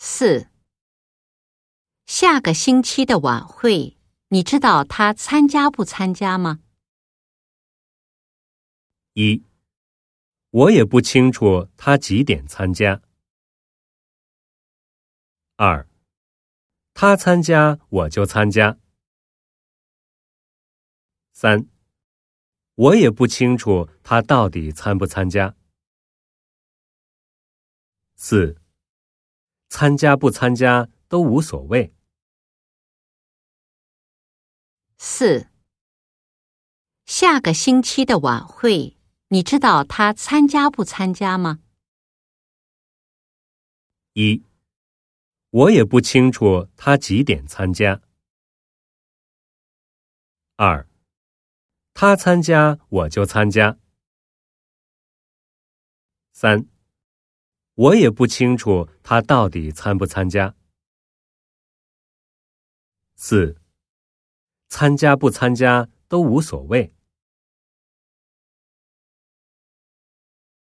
4. 下个星期的晚会，你知道他参加不参加吗 ？1. 我也不清楚他几点参加。2. 他参加我就参加。3. 我也不清楚他到底参不参加。4. 参加不参加都无所谓。 4. 下个星期的晚会，你知道他参加不参加吗 ？1. 我也不清楚他几点参加。2. 他参加我就参加。3. 我也不清楚他到底参不参加。4. 参加不参加都无所谓。